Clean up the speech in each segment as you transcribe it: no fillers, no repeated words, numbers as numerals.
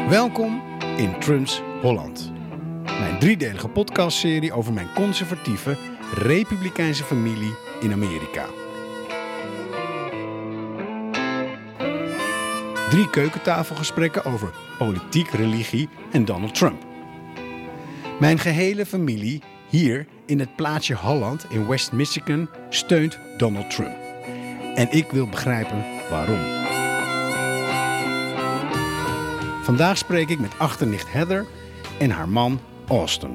Welkom in Trumps Holland. Mijn driedelige podcastserie over mijn conservatieve, republikeinse familie in Amerika. 3 keukentafelgesprekken over politiek, religie en Donald Trump. Mijn gehele familie hier in het plaatsje Holland in West Michigan steunt Donald Trump. En ik wil begrijpen waarom. Vandaag spreek ik met achternicht Heather en haar man Austin.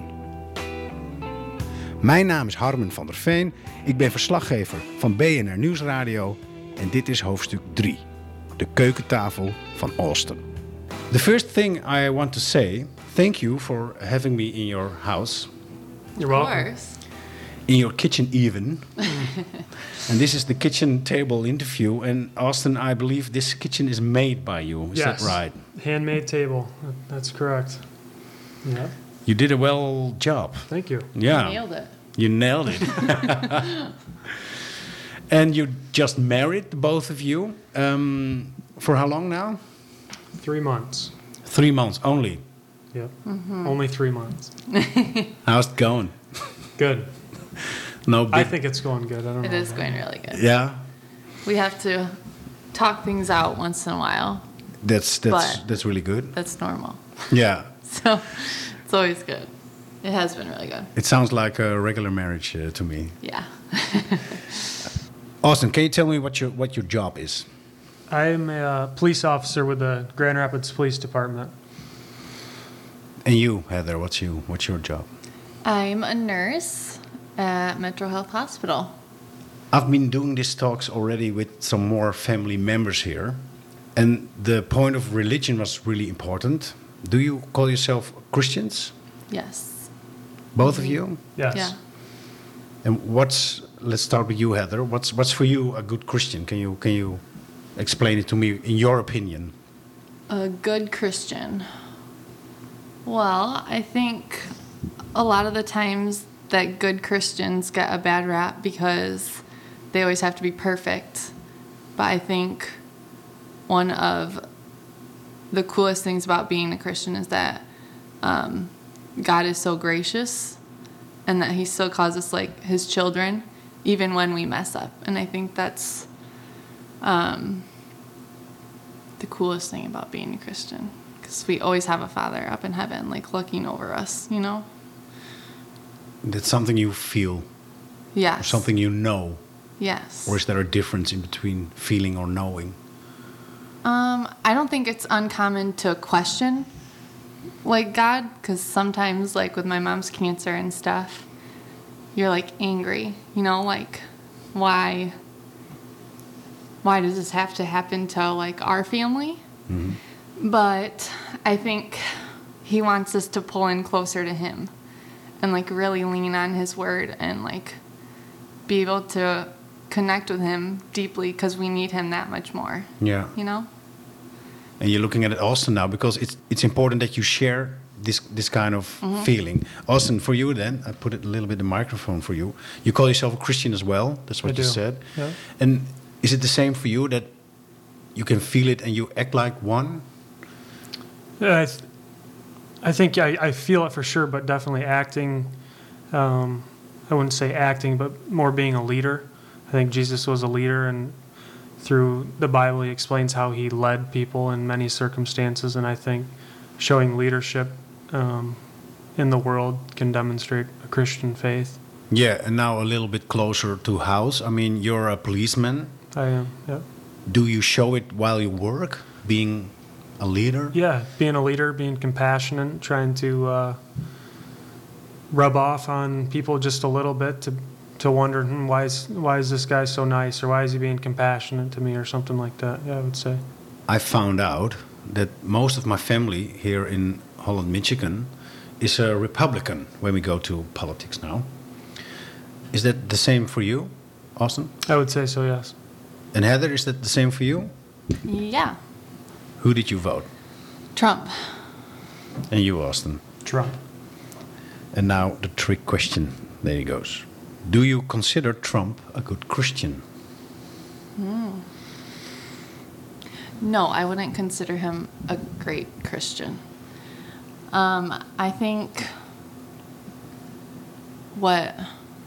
Mijn naam is Harmen van der Veen. Ik ben verslaggever van BNR Nieuwsradio. En dit is hoofdstuk 3. De keukentafel van Austin. The first thing I want to say, thank you for having me in your house. You're welcome. Of course. In your kitchen even. And this is the kitchen table interview. And Austin, I believe this kitchen is made by you. Is that right? Handmade table. That's correct. Yeah. You did a well job. Thank you. Yeah. You nailed it. You nailed it. And you just married, the both of you. For how long now? 3 months. 3 months only. Yep. Mm-hmm. Only 3 months. How's it going? Good. No, I think it's going good. I don't know. It is going really good. Yeah. We have to talk things out once in a while. That's really good. That's normal. Yeah. So it's always good. It has been really good. It sounds like a regular marriage to me. Yeah. Austin, can you tell me what your job is? I'm a police officer with the Grand Rapids Police Department. And you, Heather, what's your job? I'm a nurse at Metro Health Hospital. I've been doing these talks already with some more family members here. And the point of religion was really important. Do you call yourself Christians? Yes. Both of you? Yes. Yeah. And let's start with you, Heather. What's for you a good Christian? Can you explain it to me in your opinion? A good Christian. Well, I think a lot of the times that good Christians get a bad rap because they always have to be perfect. But I think one of the coolest things about being a Christian is that God is so gracious and that he still calls us like his children even when we mess up. And I think that's the coolest thing about being a Christian. Because we always have a Father up in heaven, like, looking over us, you know? That's something you feel? Yes. Or something you know? Yes. Or is there a difference in between feeling or knowing? I don't think it's uncommon to question, like, God, because sometimes, like, with my mom's cancer and stuff, you're, like, angry, you know? Like, why does this have to happen to, like, our family? Mm-hmm. But I think he wants us to pull in closer to him and, like, really lean on his word and, like, be able to connect with him deeply because we need him that much more. Yeah. You know? And you're looking at it Austin now because it's important that you share this kind of feeling. Austin, for you then, I put it a little bit the microphone for you. You call yourself a Christian as well. That's what you said. Yeah. And is it the same for you that you can feel it and you act like one? Yeah, I think I feel it for sure, but definitely acting. I wouldn't say acting, but more being a leader. I think Jesus was a leader, and through the Bible, he explains how he led people in many circumstances, and I think showing leadership in the world can demonstrate a Christian faith. Yeah, and now a little bit closer to house. I mean, you're a policeman. I am, yeah. Do you show it while you work, being a leader? Yeah, being a leader, being compassionate, trying to rub off on people just a little bit to wonder, why is this guy so nice, or why is he being compassionate to me, or something like that. Yeah, I would say. I found out that most of my family here in Holland, Michigan, is a Republican when we go to politics now. Is that the same for you, Austin? I would say so, yes. And Heather, is that the same for you? Yeah. Who did you vote? Trump. And you, Austin? Trump. And now the trick question. There he goes. Do you consider Trump a good Christian? No, I wouldn't consider him a great Christian. I think what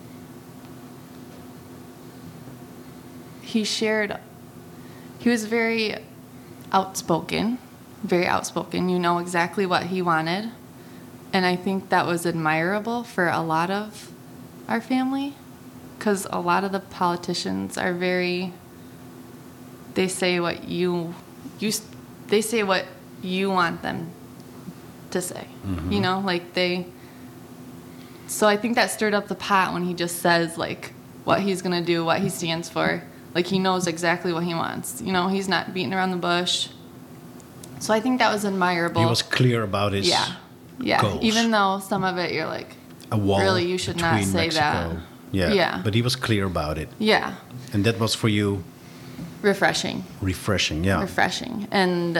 he shared, he was very outspoken. You know exactly what he wanted. And I think that was admirable for a lot of our family, because a lot of the politicians are very, they say what they say what you want them to say. Mm-hmm. You know, like so I think that stirred up the pot when he just says, like, what he's going to do, what he stands for. Like, he knows exactly what he wants. You know, he's not beating around the bush. So I think that was admirable. He was clear about his goals. Even though some of it you're like, a wall really, you should not between say Mexico. that. Yeah. But he was clear about it. Yeah. And that was for you Refreshing. yeah. Refreshing. And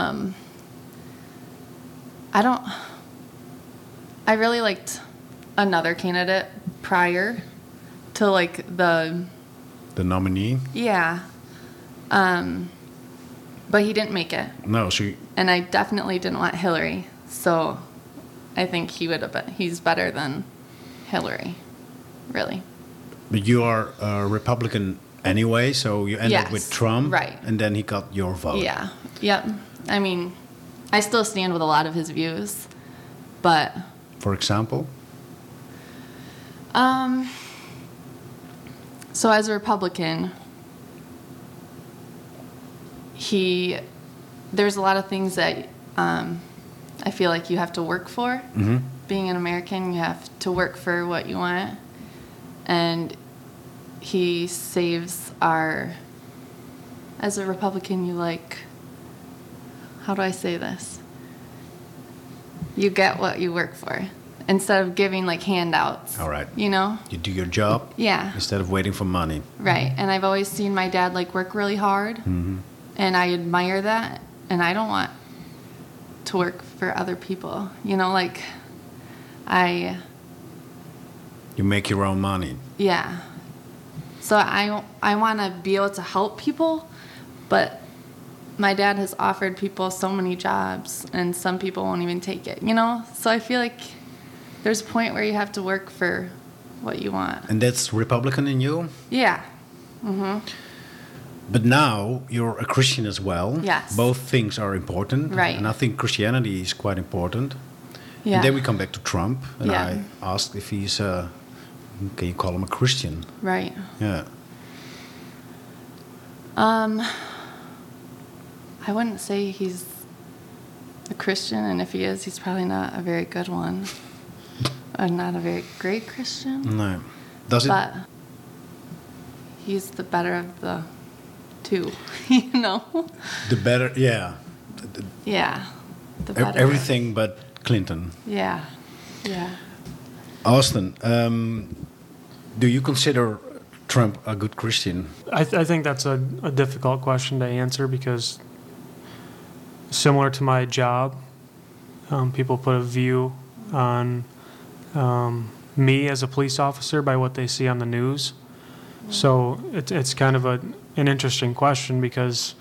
I really liked another candidate prior to, like, the nominee. Yeah. But he didn't make it. No, And I definitely didn't want Hillary. So I think he's better than Hillary, really. But you are a Republican anyway, so you ended Yes, with Trump. right. And then he got your vote. Yeah. Yep. I mean, I still stand with a lot of his views, but For example? So as a Republican, there's a lot of things that I feel like you have to work for. Mm-hmm. Being an American, you have to work for what you want. And he saves as a Republican, how do I say this? You get what you work for instead of giving, like, handouts. All right. You know? You do your job Yeah. instead of waiting for money. Right. And I've always seen my dad, like, work really hard. Mm-hmm. And I admire that. And I don't want to work for other people. You know, like, You make your own money. yeah. So I want to be able to help people, but my dad has offered people so many jobs, and some people won't even take it, you know? So I feel like there's a point where you have to work for what you want. And that's Republican in you? Yeah. Mm-hmm. But now you're a Christian as well. Yes. Both things are important. Right. And I think Christianity is quite important. Yeah. And then we come back to Trump. And Yeah. I asked if he's, can you call him a Christian? Right. Yeah. I wouldn't say he's a Christian, and if he is, he's probably not a very good one. Or not a very great Christian. No. Does it? But he's the better of the two, you know? The better, yeah. Yeah. The better. Everything but Clinton. Yeah. Yeah. Austin, do you consider Trump a good Christian? I think that's a difficult question to answer because similar to my job, people put a view on me as a police officer by what they see on the news. So it's kind of an interesting question because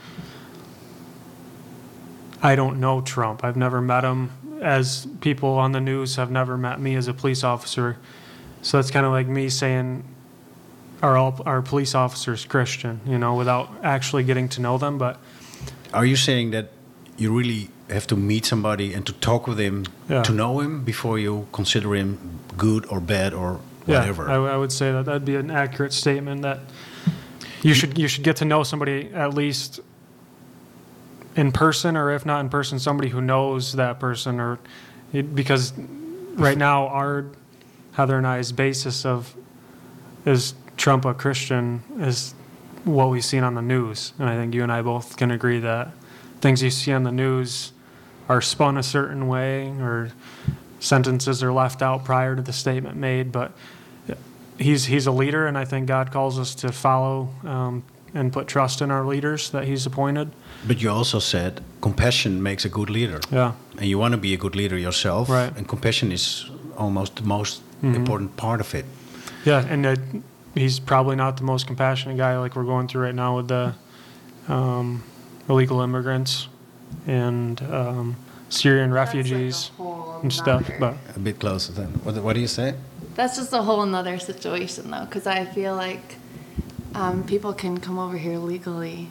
I don't know Trump. I've never met him, as people on the news have never met me as a police officer. So it's kind of like me saying, are all our police officers Christian, you know, without actually getting to know them. But Are you saying that you really have to meet somebody and to talk with him to know him before you consider him good or bad or whatever? Yeah, I would say that that'd be an accurate statement, that you should get to know somebody at least in person, or if not in person, somebody who knows that person, or because right now our Heather and I's basis of is Trump a Christian is what we've seen on the news, and I think you and I both can agree that things you see on the news are spun a certain way, or sentences are left out prior to the statement made. But he's a leader, and I think God calls us to follow and put trust in our leaders that he's appointed. But you also said compassion makes a good leader. Yeah. And you want to be a good leader yourself. Right. And compassion is almost the most important part of it. Yeah, and he's probably not the most compassionate guy like we're going through right now with the illegal immigrants and Syrian refugees and stuff. But A bit closer then. What do you say? That's just a whole nother situation, though, because I feel like people can come over here legally.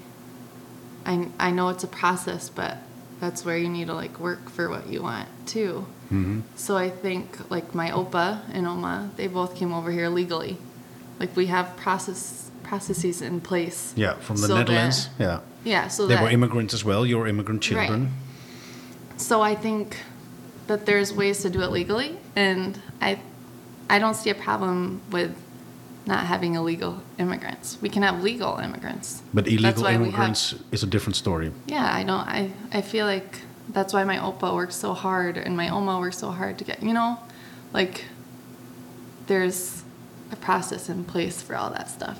I know it's a process, but that's where you need to like work for what you want too. Mm-hmm. So I think like my Opa and Oma, they both came over here legally. Like we have processes in place. Yeah, from the so Netherlands. that- yeah, so They that were immigrants as well, your immigrant children. Right. So I think that there's ways to do it legally, and I don't see a problem with not having illegal immigrants. We can have legal immigrants. But That's illegal why we immigrants is a different story. Yeah, I feel like that's why my Opa works so hard and my Oma works so hard to get, like there's a process in place for all that stuff.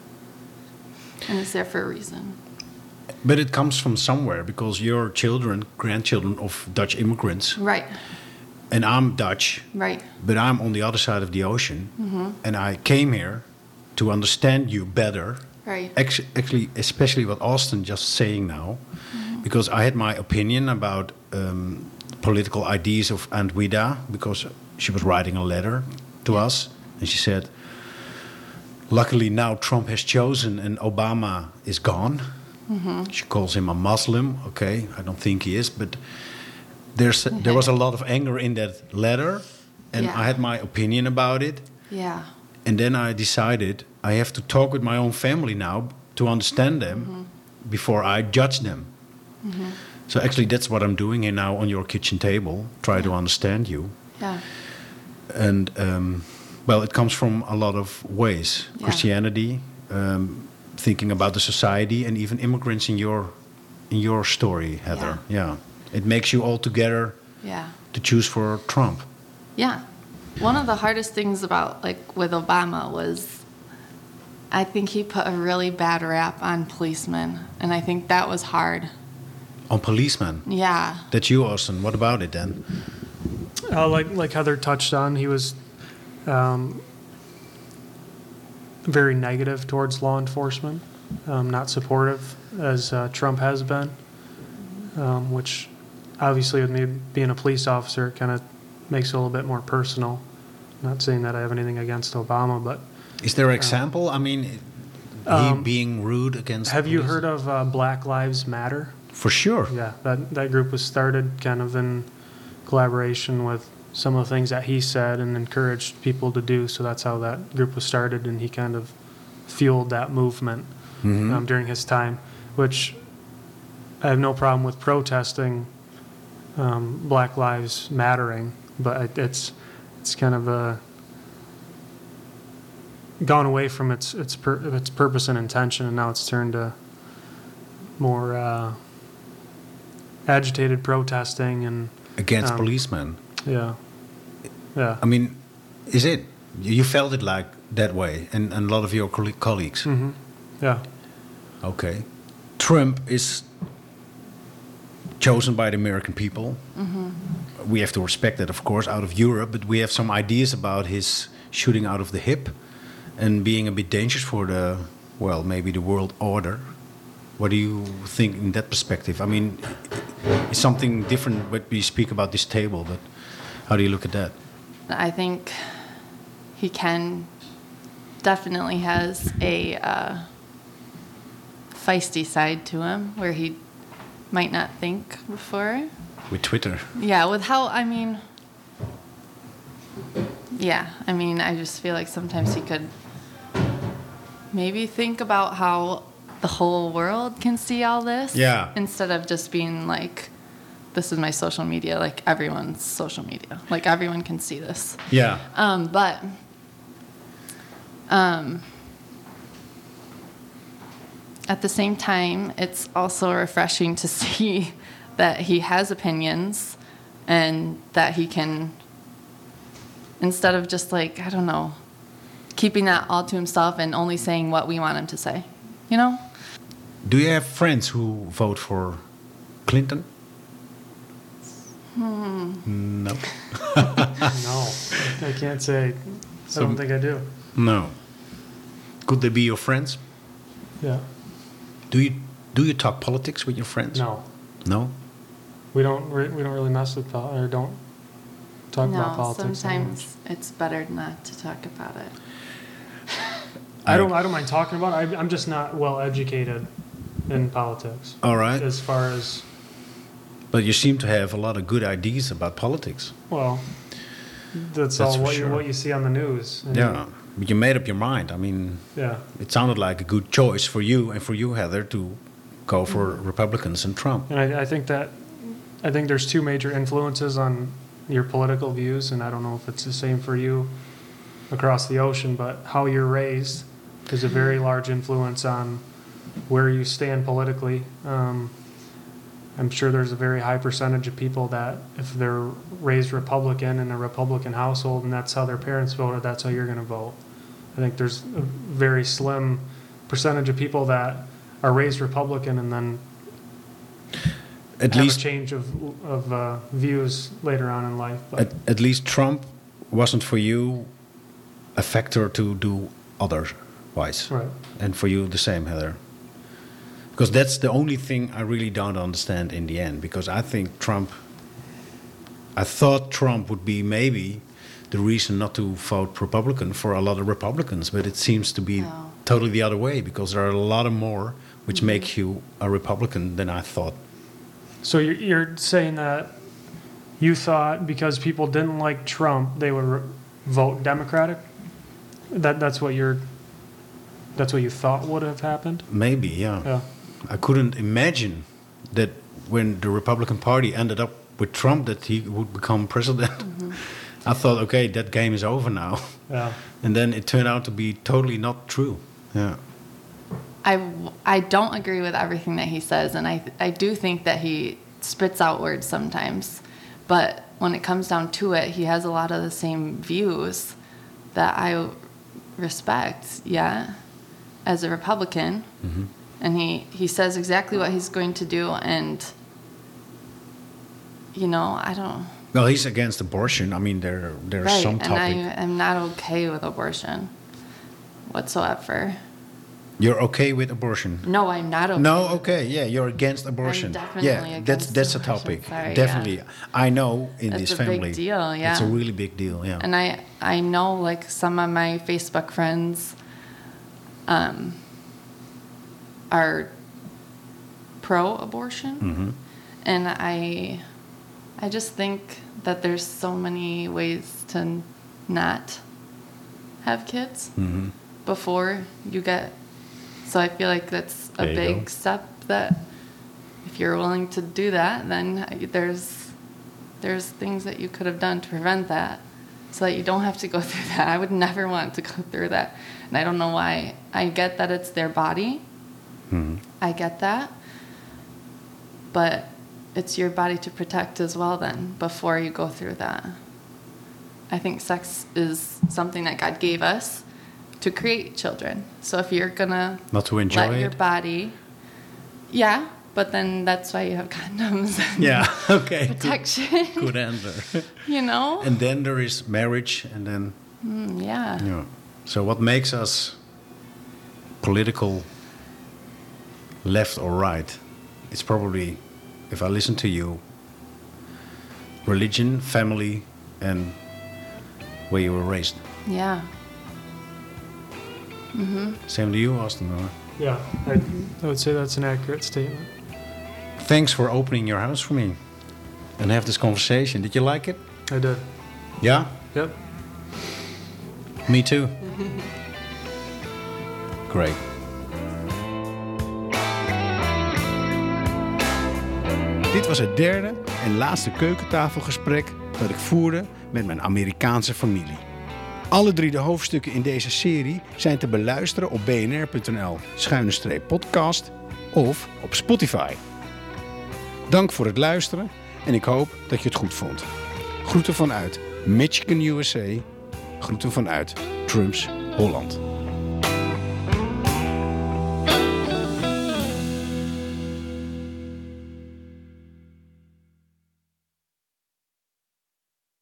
And it's there for a reason. But it comes from somewhere because you're children, grandchildren of Dutch immigrants. Right, And I'm Dutch, right. but I'm on the other side of the ocean. Mm-hmm. And I came here to understand you better. Right. Actually, especially what Austin just saying now, because I had my opinion about political ideas of Aunt Wida, because she was writing a letter to us, and she said, luckily now Trump has chosen and Obama is gone. Mm-hmm. She calls him a Muslim. Okay, I don't think he is, but there was a lot of anger in that letter, and Yeah. I had my opinion about it. Yeah. And then I decided I have to talk with my own family now to understand them before I judge them. So actually, that's what I'm doing here now on your kitchen table. Try to understand you. Yeah. And well, it comes from a lot of ways: Yeah. Christianity, thinking about the society, and even immigrants in your story, Heather. Yeah, it makes you all together Yeah. to choose for Trump. Yeah. One of the hardest things about like with Obama was I think he put a really bad rap on policemen, and I think that was hard. On policemen. Yeah. That's you, Austin. What about it then? like Heather touched on, he was very negative towards law enforcement, not supportive as Trump has been, which obviously with me being a police officer, it kind of makes it a little bit more personal. Not saying that I have anything against Obama, but Is there an example? I mean, he being rude against. have you police? heard of Black Lives Matter? For sure. Yeah, that group was started kind of in collaboration with some of the things that he said and encouraged people to do. So that's how that group was started, and he kind of fueled that movement during his time, which I have no problem with protesting Black Lives Mattering, but it's kind of gone away from its purpose and intention, and now it's turned to more agitated protesting and Against policemen. yeah. I mean, is it? You felt it like that way, and a lot of your colleagues. Yeah. Okay. Trump is chosen by the American people. We have to respect that, of course, out of Europe, but we have some ideas about his shooting out of the hip and being a bit dangerous for the, well, maybe the world order. What do you think in that perspective? I mean, it's something different when we speak about this table, but how do you look at that? I think he definitely has a feisty side to him where he might not think before. With Twitter. Yeah, with how, I just feel like sometimes he could maybe think about how the whole world can see all this. Yeah. Instead of just being like, this is my social media, like everyone's social media. Like everyone can see this. Yeah. But at the same time, it's also refreshing to see that he has opinions and that he can, instead of just like, I don't know, keeping that all to himself and only saying what we want him to say, you know? Do you have friends who vote for Clinton? No. No, I can't say. I don't think I do. No. Could they be your friends? Yeah. Do you Do you talk politics with your friends? No, No? we don't really mess with or don't talk about No, politics. sometimes it's better not to talk about it. I don't mind talking about it. I'm just not well educated in politics All right. as far as, But you seem to have a lot of good ideas about politics. well, that's That's all for what sure. you see on the news. And Yeah. But you made up your mind. I mean, Yeah. it sounded like a good choice for you and for you, Heather, to go for Republicans and Trump. And I think there's two major influences on your political views, and I don't know if it's the same for you across the ocean, but how you're raised is a very large influence on where you stand politically. I'm sure there's a very high percentage of people that if they're raised Republican in a Republican household and that's how their parents voted, that's how you're going to vote. I think there's a very slim percentage of people that are raised Republican and then At have least, a change of views later on in life. But at least Trump wasn't for you a factor to do otherwise. right. And for you, the same, Heather. Because that's the only thing I really don't understand in the end. Because I thought Trump would be maybe the reason not to vote Republican for a lot of Republicans. But it seems to be No. totally the other way. Because there are a lot of more which make you a Republican than I thought. So you're saying that you thought because people didn't like Trump, they would vote Democratic? That's what you thought would have happened? Maybe, yeah. Yeah. I couldn't imagine that when the Republican Party ended up with Trump that he would become president. I thought, okay, that game is over now. Yeah. And then it turned out to be totally not true. Yeah. I don't agree with everything that he says, and I do think that he spits out words sometimes. But when it comes down to it, he has a lot of the same views that I respect, yeah, as a Republican. Mm-hmm. And he says exactly what he's going to do, and, you know, I don't... Well, he's against abortion. I mean, there are Right, some and topic. I am not okay with abortion whatsoever. You're okay with abortion? No, I'm not okay. No, with okay, yeah, you're against abortion. definitely yeah, against that's a abortion. topic. Sorry, Definitely, yeah. I know in That's this a big family, deal, yeah. it's a really big deal. Yeah, And I know, like, some of my Facebook friends are pro-abortion. Mm-hmm. And I just think that there's so many ways to not have kids Mm-hmm. before you get... So I feel like that's a There you go. big step that if you're willing to do that, then there's things that you could have done to prevent that so that you don't have to go through that. I would never want to go through that. And I don't know why. I get that it's their body. Mm-hmm. I get that. But it's your body to protect as well then before you go through that. I think sex is something that God gave us to create children. So if you're going to Not to enjoy let your it? body... Yeah, but then that's why you have condoms and Yeah, okay. protection. Good answer. You know? And then there is marriage, and then Yeah. yeah. So what makes us political, left or right? It's probably, if I listen to you, religion, family, and where you were raised. Yeah. Same to you, Austin. Or? Yeah, I would say that's an accurate statement. Thanks for opening your house for me and have this conversation. Did you like it? I did. Yeah? Yep. Me too. Great. Dit was het derde en laatste keukentafelgesprek dat ik voerde met mijn Amerikaanse familie. Alle 3 de hoofdstukken in deze serie zijn te beluisteren op bnr.nl/podcast of op Spotify. Dank voor het luisteren en ik hoop dat je het goed vond. Groeten vanuit Michigan, USA. Groeten vanuit Trumps Holland.